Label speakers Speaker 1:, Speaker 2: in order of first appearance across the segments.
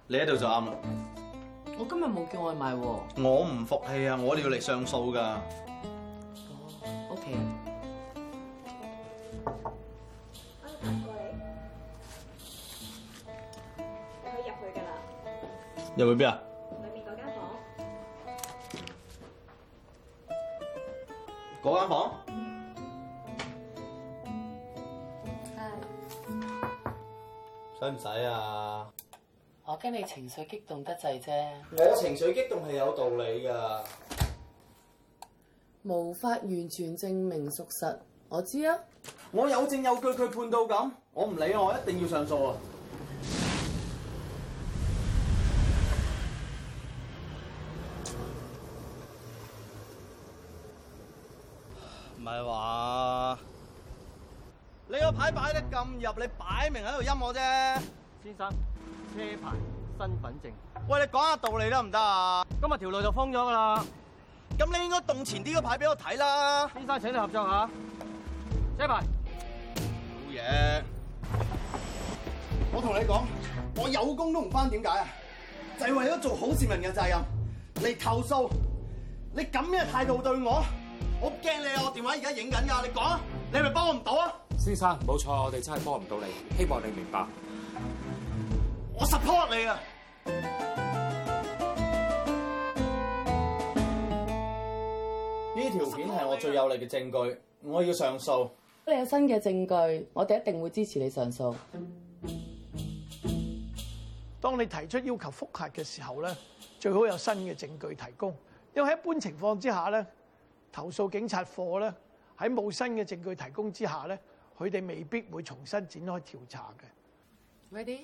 Speaker 1: 你喺度就啱啦。
Speaker 2: 我今日冇叫外賣喎。
Speaker 1: 我唔服氣啊！我哋要嚟上訴㗎。
Speaker 2: 哦，OK。
Speaker 3: 我行過嚟，你可以入去㗎啦。
Speaker 1: 入去邊啊？
Speaker 3: 裏面嗰間房。
Speaker 1: 嗰間房？使唔使啊？
Speaker 2: 我驚你情緒激動得滯啫，
Speaker 1: 我情緒激動係有道理㗎。
Speaker 2: 無法完全證明屬實。我知啊，
Speaker 1: 我有證有據，佢判到咁，我唔理，我一定要上訴啊！唔係話你個牌擺得咁入，你擺明喺度陰我啫。
Speaker 4: 先生，車牌、身份證。
Speaker 1: 喂，你講下道理得唔得啊？
Speaker 4: 今日條路就封咗㗎啦。
Speaker 1: 咁你應該動前啲個牌俾我睇啦。
Speaker 4: 先生，請你合作下。車牌。
Speaker 1: 好嘢！我同你講，我有工都唔返，點解啊？就係為咗做好市民嘅責任嚟投訴。你咁嘅態度對我，我驚你啊！我電話而家影緊㗎，你講啊，你係咪幫我唔到啊？
Speaker 5: 先生，冇錯，我哋真係幫唔到你，希望你明白。
Speaker 1: 我 support 你啊！呢條片係我最有力嘅證據，我要上訴。
Speaker 2: 你有新嘅證據，我哋一定會支持你上訴。
Speaker 6: 當你提出要求覆核嘅時候咧，最好有新嘅證據提供。因為喺一般情況之下咧，投訴警察課咧喺冇新嘅證據提供之下咧，佢哋未必會重新展開調查嘅。
Speaker 2: Ready？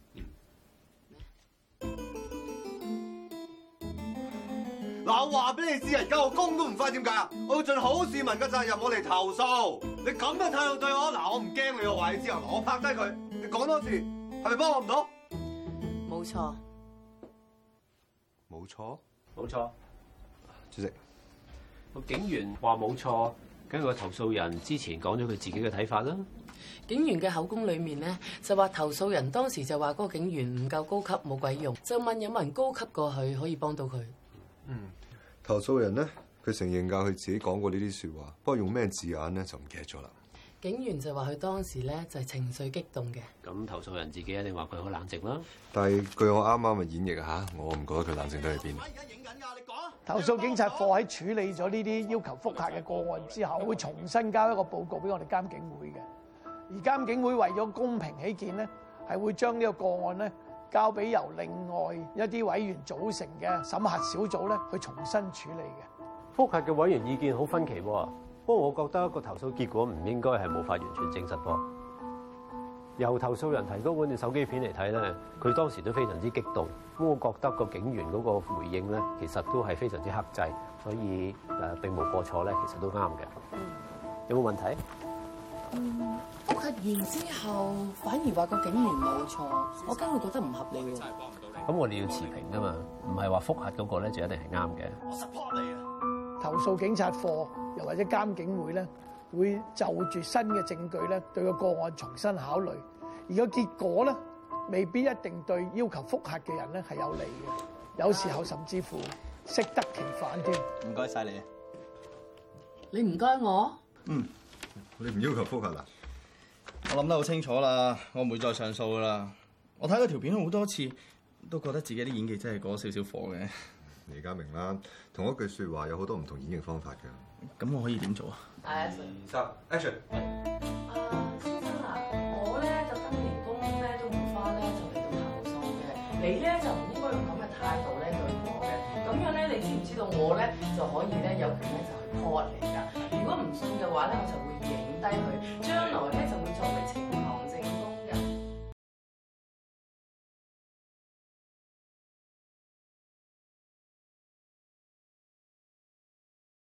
Speaker 7: 嗱，我話俾你知啊，而家我工都唔返，點解啊？我要盡好市民嘅責任，我嚟投訴。你咁嘅態度對我，嗱，我唔驚你，我話你知啊，我拍低佢。你講多次，係咪幫我唔到？
Speaker 2: 冇錯。
Speaker 7: 冇錯，
Speaker 8: 冇錯。
Speaker 7: 主席，
Speaker 8: 個警員話冇錯，根據個投訴人之前講咗佢自己嘅睇法啦。
Speaker 2: 警員嘅口供裡面咧，就話投訴人當時就話嗰個警員唔夠高級，冇鬼用，就問有冇人高級過佢可以幫到佢。
Speaker 7: 投訴人咧，佢承認㗎，佢自己講過呢啲説話，不過用咩字眼咧就唔記得咗啦。
Speaker 2: 警員就話佢當時咧就係情緒激動嘅。
Speaker 8: 咁投訴人自己一定話佢好冷靜啦。
Speaker 7: 但係據我啱啱嘅演繹嚇，我唔覺得佢冷靜得去邊。
Speaker 6: 投訴警察課喺處理咗呢啲要求覆核嘅個案之後，會重新交一個報告俾我哋監警會嘅。而監警會為咗公平起見咧，係會將呢個個案咧交俾由另外一啲委員組成嘅審核小組咧去重新處理嘅。
Speaker 4: 覆核嘅委員意見好分歧喎，不過我覺得個投訴結果唔應該係無法完全證實噃。由投訴人提供嗰段手機片嚟睇咧，佢當時都非常之激動。咁我覺得個警員嗰個回應咧，其實都係非常之克制，所以並無過錯咧，其實都啱嘅。有冇問題？
Speaker 2: 覆核完之後，反而話個警員冇錯，我驚佢覺得唔合理喎。
Speaker 8: 咁我哋要持平㗎嘛，唔係話覆核嗰個咧就一定係啱嘅。
Speaker 1: 我 support 你啊！
Speaker 6: 投訴警察課又或者監警會咧，會就住新嘅證據咧，對個案重新考慮，而個結果咧，未必一定對要求覆核嘅人咧係有利嘅，有時候甚至乎適得其反添。
Speaker 1: 唔該晒你。
Speaker 2: 你唔該我。
Speaker 7: 你唔要求覆核啦？
Speaker 1: 我諗得好清楚啦，我唔會再上訴噶啦。我睇嗰條片好多次，都覺得自己啲演技真係過咗少少火嘅。
Speaker 7: 你而家明啦，同一句説話有好多唔同演繹方法㗎。
Speaker 1: 咁我可以點做啊
Speaker 7: 2、3 ，Action！
Speaker 2: 先生啊，我咧就今年工咧都唔返咧，就嚟到投訴嘅。你咧就唔應該用咁嘅態度咧對我嘅。咁樣咧，你知唔知道我咧就可以咧有權咧就去 call 你㗎？如果唔信嘅話咧，我就會影低佢，將來咧就會作為證